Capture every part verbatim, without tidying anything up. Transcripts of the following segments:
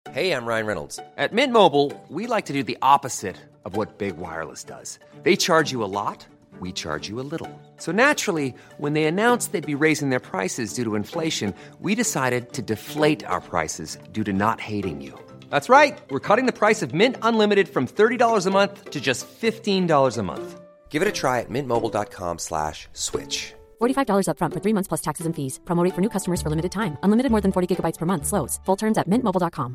Hey, I'm Ryan Reynolds. At Mint Mobile, we like to do the opposite of what Big Wireless does. They charge you a lot, we charge you a little. So naturally, when they announced they'd be raising their prices due to inflation, we decided to deflate our prices due to not hating you. That's right. We're cutting the price of Mint Unlimited from thirty dollars a month to just fifteen dollars a month. Give it a try at mintmobile.com slash switch. forty-five dollars up front for three months plus taxes and fees. Promo rate for new customers for limited time. Unlimited more than forty gigabytes per month. Slows full terms at mint mobile dot com.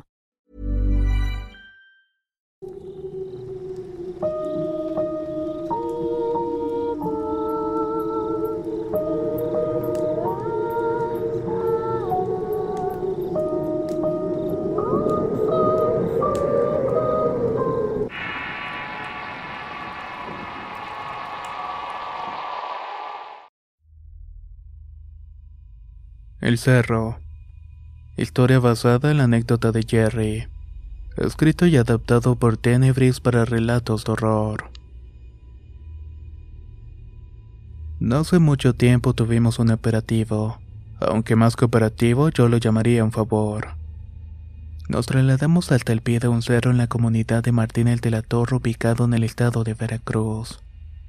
El Cerro. Historia basada en la anécdota de Jerry. Escrito y adaptado por Tenebris para relatos de horror. No hace mucho tiempo tuvimos un operativo. Aunque más que operativo, yo lo llamaría un favor. Nos trasladamos hasta el pie de un cerro en la comunidad de Martínez de la Torre, ubicado en el estado de Veracruz.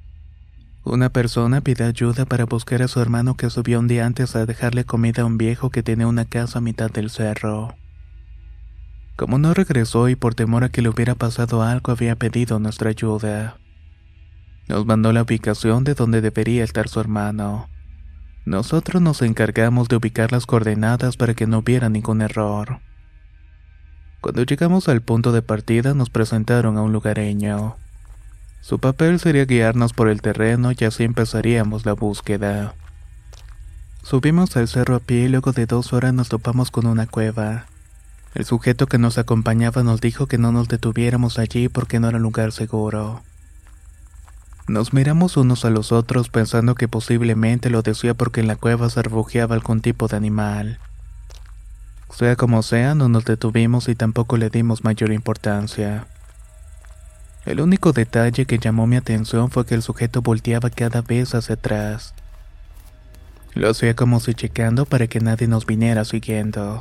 Una persona pidió ayuda para buscar a su hermano que subió un día antes a dejarle comida a un viejo que tenía una casa a mitad del cerro. Como no regresó y por temor a que le hubiera pasado algo, había pedido nuestra ayuda. Nos mandó la ubicación de donde debería estar su hermano. Nosotros nos encargamos de ubicar las coordenadas para que no hubiera ningún error. Cuando llegamos al punto de partida, nos presentaron a un lugareño. Su papel sería guiarnos por el terreno y así empezaríamos la búsqueda. Subimos al cerro a pie y luego de dos horas nos topamos con una cueva. El sujeto que nos acompañaba nos dijo que no nos detuviéramos allí porque no era un lugar seguro. Nos miramos unos a los otros pensando que posiblemente lo decía porque en la cueva se refugiaba algún tipo de animal. Sea como sea, no nos detuvimos y tampoco le dimos mayor importancia. El único detalle que llamó mi atención fue que el sujeto volteaba cada vez hacia atrás. Lo hacía como si checando para que nadie nos viniera siguiendo.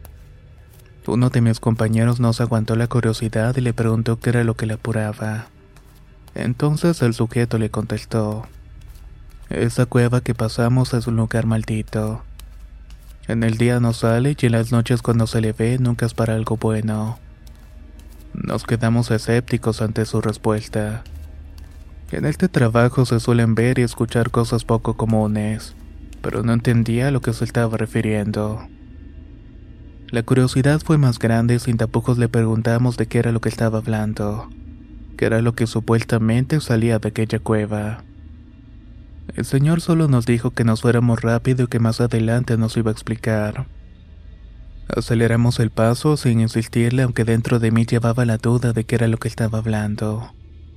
Uno de mis compañeros nos aguantó la curiosidad y le preguntó qué era lo que le apuraba. Entonces el sujeto le contestó: esa cueva que pasamos es un lugar maldito. En el día no sale y en las noches cuando se le ve nunca es para algo bueno. Nos quedamos escépticos ante su respuesta. En este trabajo se suelen ver y escuchar cosas poco comunes, pero no entendía a lo que se estaba refiriendo. La curiosidad fue más grande y sin tapujos le preguntamos de qué era lo que estaba hablando, qué era lo que supuestamente salía de aquella cueva. El señor solo nos dijo que nos fuéramos rápido y que más adelante nos iba a explicar. Aceleramos el paso sin insistirle, aunque dentro de mí llevaba la duda de qué era lo que estaba hablando.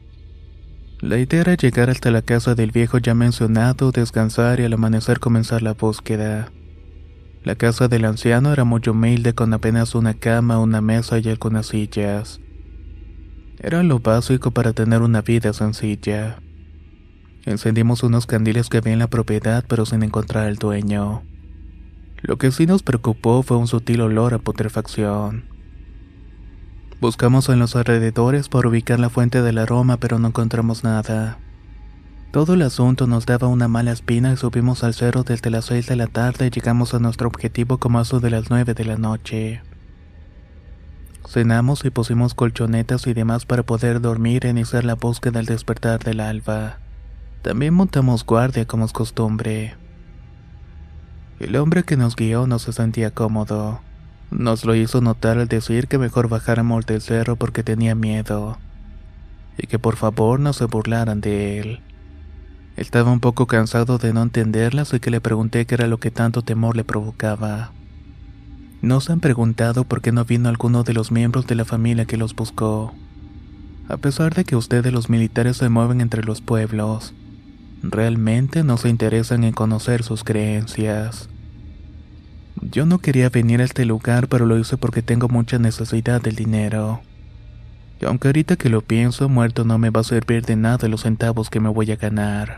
La idea era llegar hasta la casa del viejo ya mencionado, descansar y al amanecer comenzar la búsqueda. La casa del anciano era muy humilde, con apenas una cama, una mesa y algunas sillas. Era lo básico para tener una vida sencilla. Encendimos unos candiles que había en la propiedad, pero sin encontrar al dueño. Lo que sí nos preocupó fue un sutil olor a putrefacción. Buscamos en los alrededores para ubicar la fuente del aroma, pero no encontramos nada. Todo el asunto nos daba una mala espina y subimos al cerro desde las seis de la tarde y llegamos a nuestro objetivo como a eso de las nueve de la noche. Cenamos y pusimos colchonetas y demás para poder dormir e iniciar la búsqueda al despertar del alba. También montamos guardia como es costumbre. El hombre que nos guió no se sentía cómodo. Nos lo hizo notar al decir que mejor bajáramos del cerro porque tenía miedo, y que por favor no se burlaran de él. Estaba un poco cansado de no entenderla, así que le pregunté qué era lo que tanto temor le provocaba. ¿No se han preguntado por qué no vino alguno de los miembros de la familia que los buscó? A pesar de que ustedes los militares se mueven entre los pueblos, realmente no se interesan en conocer sus creencias. Yo no quería venir a este lugar, pero lo hice porque tengo mucha necesidad del dinero. Y aunque ahorita que lo pienso, muerto no me va a servir de nada los centavos que me voy a ganar.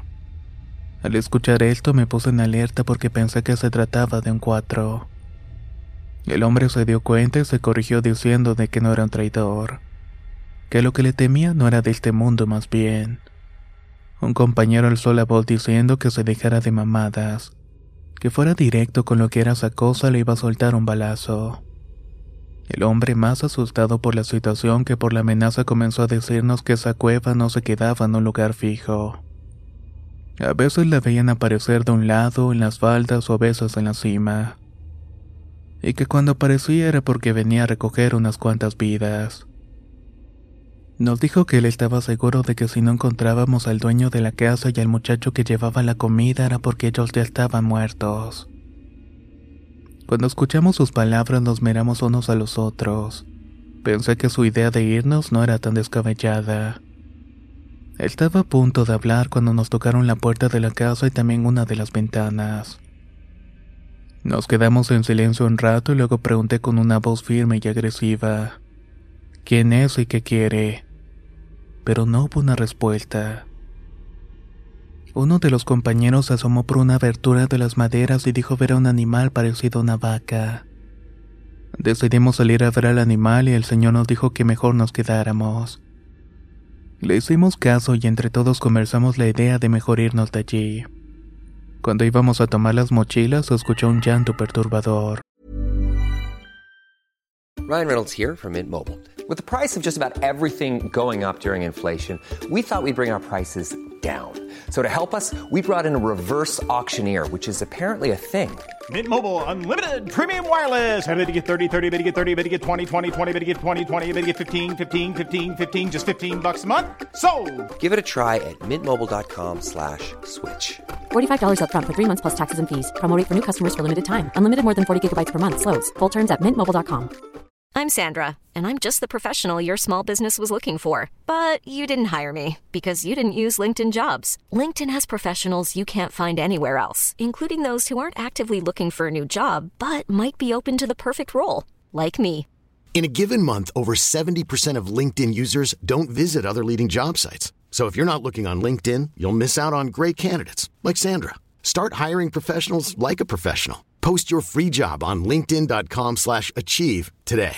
Al escuchar esto me puse en alerta porque pensé que se trataba de un cuatro. El hombre se dio cuenta y se corrigió diciendo de que no era un traidor, que lo que le temía no era de este mundo más bien. Un compañero alzó la voz diciendo que se dejara de mamadas, que fuera directo con lo que era esa cosa, le iba a soltar un balazo. El hombre, más asustado por la situación que por la amenaza, comenzó a decirnos que esa cueva no se quedaba en un lugar fijo. A veces la veían aparecer de un lado, en las faldas o a veces en la cima. Y que cuando aparecía era porque venía a recoger unas cuantas vidas. Nos dijo que él estaba seguro de que si no encontrábamos al dueño de la casa y al muchacho que llevaba la comida era porque ellos ya estaban muertos. Cuando escuchamos sus palabras nos miramos unos a los otros. Pensé que su idea de irnos no era tan descabellada. Estaba a punto de hablar cuando nos tocaron la puerta de la casa y también una de las ventanas. Nos quedamos en silencio un rato y luego pregunté con una voz firme y agresiva: ¿quién es y qué quiere? Pero no hubo una respuesta. Uno de los compañeros se asomó por una abertura de las maderas y dijo ver a un animal parecido a una vaca. Decidimos salir a ver al animal y el señor nos dijo que mejor nos quedáramos. Le hicimos caso y entre todos conversamos la idea de mejor irnos de allí. Cuando íbamos a tomar las mochilas, se escuchó un llanto perturbador. Ryan Reynolds here from Mint Mobile. With the price of just about everything going up during inflation, we thought we'd bring our prices down. So to help us, we brought in a reverse auctioneer, which is apparently a thing. Mint Mobile Unlimited Premium Wireless. How to get thirty, thirty, how to get thirty, how to get twenty, twenty, twenty, how to get twenty, twenty, how to get fifteen, fifteen, fifteen, fifteen, just fifteen bucks a month? Sold! Give it a try at mintmobile.com slash switch. forty-five dollars up front for three months plus taxes and fees. Promo rate for new customers for limited time. Unlimited more than forty gigabytes per month. Slows full terms at mint mobile dot com. I'm Sandra, and I'm just the professional your small business was looking for. But you didn't hire me because you didn't use LinkedIn Jobs. LinkedIn has professionals you can't find anywhere else, including those who aren't actively looking for a new job, but might be open to the perfect role, like me. In a given month, over seventy percent of LinkedIn users don't visit other leading job sites. So if you're not looking on LinkedIn, you'll miss out on great candidates, like Sandra. Start hiring professionals like a professional. Post your free job on linkedin.com slash achieve today.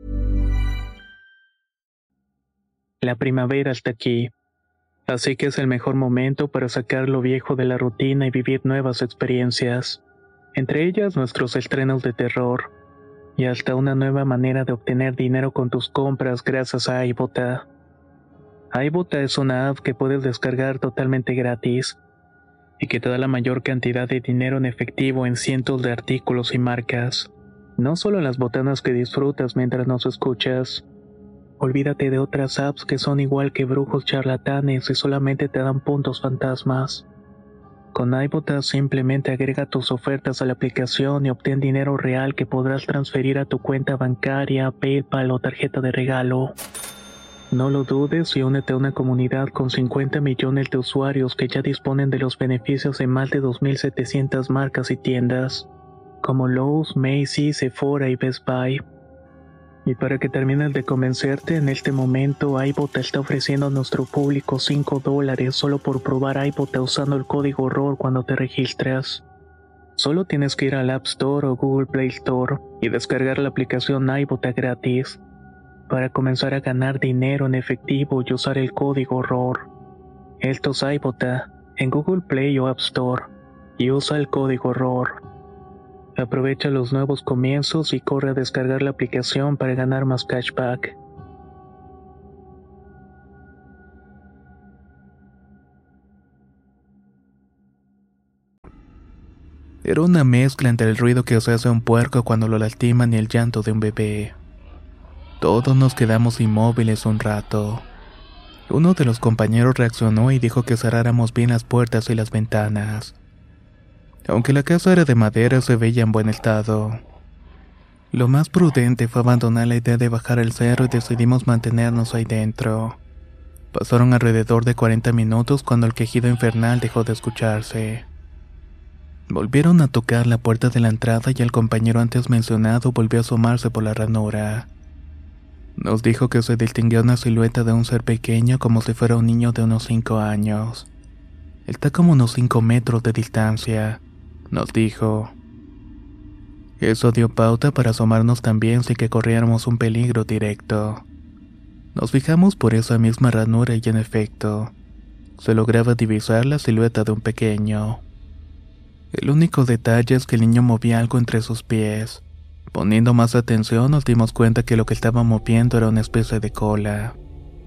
La primavera está aquí, así que es el mejor momento para sacar lo viejo de la rutina y vivir nuevas experiencias, entre ellas nuestros estrenos de terror, y hasta una nueva manera de obtener dinero con tus compras gracias a iBota. iBota es una app que puedes descargar totalmente gratis, y que te da la mayor cantidad de dinero en efectivo en cientos de artículos y marcas. No solo las botanas que disfrutas mientras nos escuchas. Olvídate de otras apps que son igual que brujos charlatanes y solamente te dan puntos fantasmas. Con iBota simplemente agrega tus ofertas a la aplicación y obtén dinero real que podrás transferir a tu cuenta bancaria, PayPal o tarjeta de regalo. No lo dudes y únete a una comunidad con cincuenta millones de usuarios que ya disponen de los beneficios de más de dos mil setecientas marcas y tiendas, como Lowe's, Macy's, Sephora y Best Buy. Y para que termines de convencerte, en este momento iBota está ofreciendo a nuestro público cinco dólares solo por probar iBota usando el código ROR cuando te registras. Solo tienes que ir al App Store o Google Play Store y descargar la aplicación iBota gratis para comenzar a ganar dinero en efectivo y usar el código ROR. Esto es iBota en Google Play o App Store y usa el código ROR. Aprovecha los nuevos comienzos y corre a descargar la aplicación para ganar más cashback. Era una mezcla entre el ruido que se hace un puerco cuando lo lastiman y el llanto de un bebé. Todos nos quedamos inmóviles un rato. Uno de los compañeros reaccionó y dijo que cerráramos bien las puertas y las ventanas. Aunque la casa era de madera, se veía en buen estado. Lo más prudente fue abandonar la idea de bajar el cerro y decidimos mantenernos ahí dentro. Pasaron alrededor de cuarenta minutos cuando el quejido infernal dejó de escucharse. Volvieron a tocar la puerta de la entrada y el compañero antes mencionado volvió a asomarse por la ranura. Nos dijo que se distinguía una silueta de un ser pequeño como si fuera un niño de unos cinco años. Está como unos cinco metros de distancia, nos dijo. Eso dio pauta para asomarnos también sin que corriéramos un peligro directo. Nos fijamos por esa misma ranura y en efecto, se lograba divisar la silueta de un pequeño. El único detalle es que el niño movía algo entre sus pies. Poniendo más atención nos dimos cuenta que lo que estaba moviendo era una especie de cola.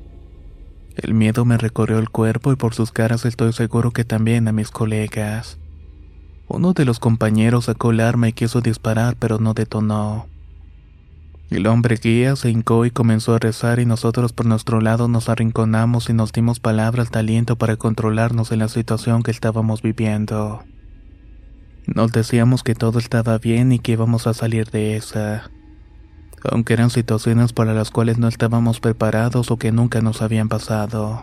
El miedo me recorrió el cuerpo y por sus caras estoy seguro que también a mis colegas. Uno de los compañeros sacó el arma y quiso disparar pero no detonó. El hombre guía se hincó y comenzó a rezar y nosotros por nuestro lado nos arrinconamos y nos dimos palabras de aliento para controlarnos en la situación que estábamos viviendo. Nos decíamos que todo estaba bien y que íbamos a salir de esa, aunque eran situaciones para las cuales no estábamos preparados o que nunca nos habían pasado.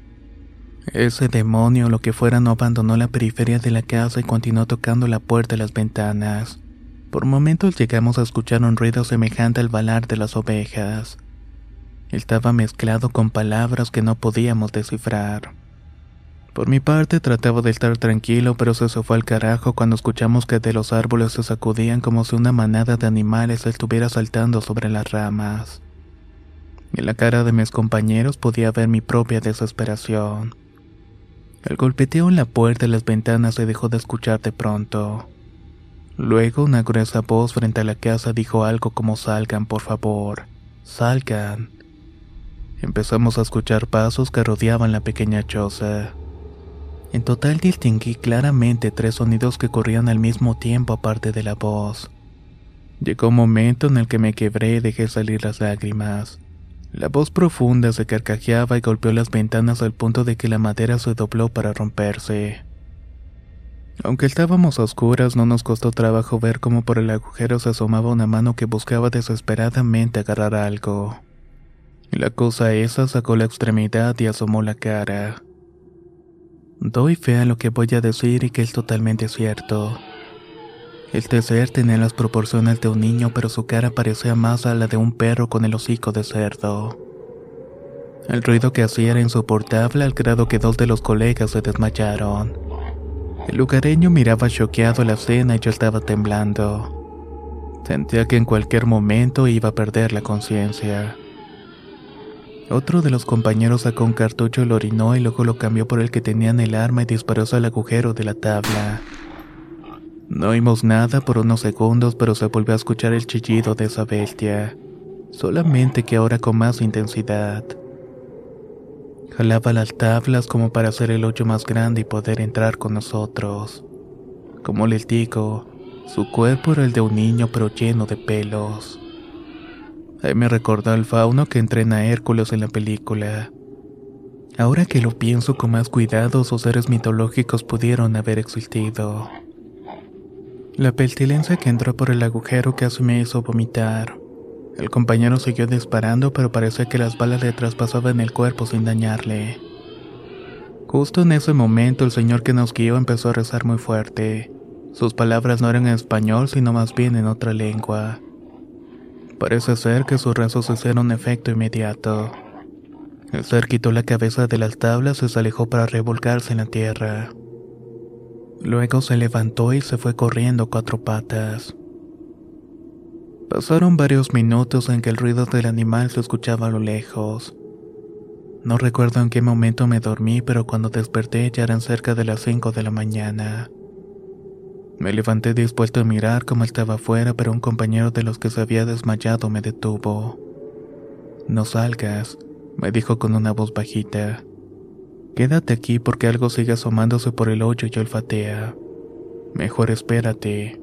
Ese demonio, lo que fuera, no abandonó la periferia de la casa y continuó tocando la puerta y las ventanas. Por momentos llegamos a escuchar un ruido semejante al balar de las ovejas. Estaba mezclado con palabras que no podíamos descifrar. Por mi parte trataba de estar tranquilo, pero se fue al carajo cuando escuchamos que de los árboles se sacudían como si una manada de animales estuviera saltando sobre las ramas. En la cara de mis compañeros podía ver mi propia desesperación. El golpeteo en la puerta y las ventanas se dejó de escuchar de pronto. Luego una gruesa voz frente a la casa dijo algo como «Salgan, por favor, salgan». Empezamos a escuchar pasos que rodeaban la pequeña choza. En total distinguí claramente tres sonidos que corrían al mismo tiempo aparte de la voz. Llegó un momento en el que me quebré y dejé salir las lágrimas. La voz profunda se carcajeaba y golpeó las ventanas al punto de que la madera se dobló para romperse. Aunque estábamos a oscuras, no nos costó trabajo ver cómo por el agujero se asomaba una mano que buscaba desesperadamente agarrar algo. La cosa esa sacó la extremidad y asomó la cara. Doy fe a lo que voy a decir y que es totalmente cierto. Este ser tenía las proporciones de un niño, pero su cara parecía más a la de un perro con el hocico de cerdo. El ruido que hacía era insoportable al grado que dos de los colegas se desmayaron. El lugareño miraba choqueado la escena y yo estaba temblando. Sentía que en cualquier momento iba a perder la conciencia. Otro de los compañeros sacó un cartucho y lo orinó y luego lo cambió por el que tenía en el arma y disparó hacia el agujero de la tabla. No oímos nada por unos segundos, pero se volvió a escuchar el chillido de esa bestia, solamente que ahora con más intensidad. Jalaba las tablas como para hacer el hoyo más grande y poder entrar con nosotros. Como les digo, su cuerpo era el de un niño pero lleno de pelos. Ahí me recordó al fauno que entrena a Hércules en la película. Ahora que lo pienso con más cuidado, esos seres mitológicos pudieron haber existido. La pestilencia que entró por el agujero casi me hizo vomitar. El compañero siguió disparando, pero parecía que las balas le traspasaban el cuerpo sin dañarle. Justo en ese momento, el señor que nos guió empezó a rezar muy fuerte. Sus palabras no eran en español, sino más bien en otra lengua. Parece ser que sus rezos hicieron efecto inmediato. El ser quitó la cabeza de las tablas y se alejó para revolcarse en la tierra. Luego se levantó y se fue corriendo a cuatro patas. Pasaron varios minutos en que el ruido del animal se escuchaba a lo lejos. No recuerdo en qué momento me dormí, pero cuando desperté ya eran cerca de las cinco de la mañana. Me levanté dispuesto a mirar cómo estaba afuera, pero un compañero de los que se había desmayado me detuvo. «No salgas», me dijo con una voz bajita. «Quédate aquí porque algo sigue asomándose por el hoyo y olfatea. Mejor espérate».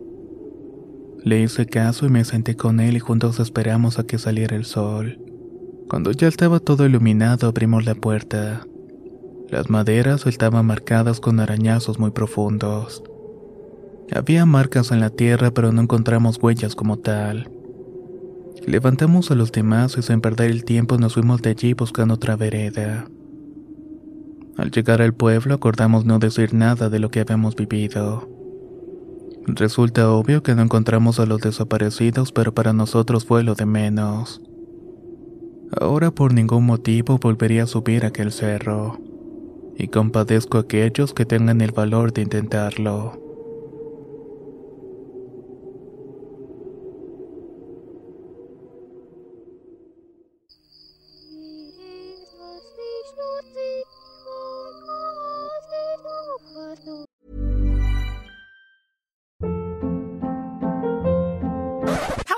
Le hice caso y me senté con él y juntos esperamos a que saliera el sol. Cuando ya estaba todo iluminado abrimos la puerta. Las maderas estaban marcadas con arañazos muy profundos. Había marcas en la tierra, pero no encontramos huellas como tal. Levantamos a los demás y sin perder el tiempo nos fuimos de allí buscando otra vereda. Al llegar al pueblo acordamos no decir nada de lo que habíamos vivido. Resulta obvio que no encontramos a los desaparecidos, pero para nosotros fue lo de menos. Ahora por ningún motivo volvería a subir aquel cerro, y compadezco a aquellos que tengan el valor de intentarlo.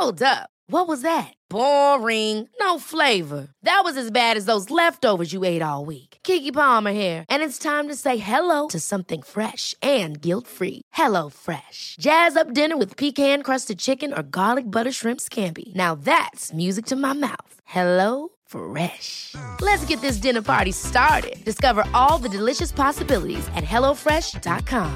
Hold up. What was that? Boring. No flavor. That was as bad as those leftovers you ate all week. Keke Palmer here, and it's time to say hello to something fresh and guilt-free. Hello Fresh. Jazz up dinner with pecan-crusted chicken or garlic butter shrimp scampi. Now that's music to my mouth. Hello Fresh. Let's get this dinner party started. Discover all the delicious possibilities at hello fresh dot com.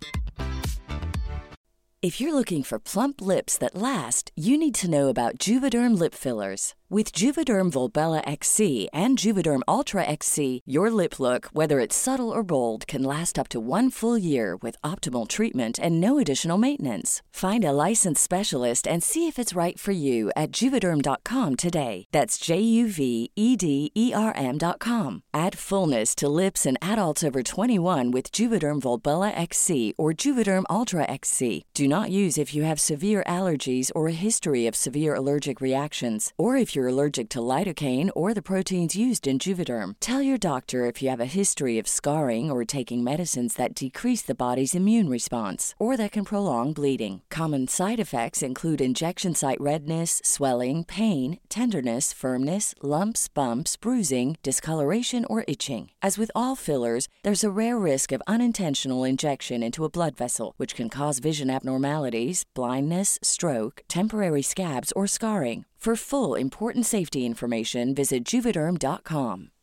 If you're looking for plump lips that last, you need to know about Juvederm lip fillers. With Juvederm Volbella X C and Juvederm Ultra X C, your lip look, whether it's subtle or bold, can last up to one full year with optimal treatment and no additional maintenance. Find a licensed specialist and see if it's right for you at Juvederm dot com today. That's J U V E D E R M dot com. Add fullness to lips in adults over twenty-one with Juvederm Volbella X C or Juvederm Ultra X C. Do not use if you have severe allergies or a history of severe allergic reactions, or if you're allergic to lidocaine or the proteins used in Juvederm. Tell your doctor if you have a history of scarring or taking medicines that decrease the body's immune response or that can prolong bleeding. Common side effects include injection site redness, swelling, pain, tenderness, firmness, lumps, bumps, bruising, discoloration, or itching. As with all fillers, there's a rare risk of unintentional injection into a blood vessel, which can cause vision abnormalities, blindness, stroke, temporary scabs, or scarring. For full, important safety information, visit Juvederm dot com.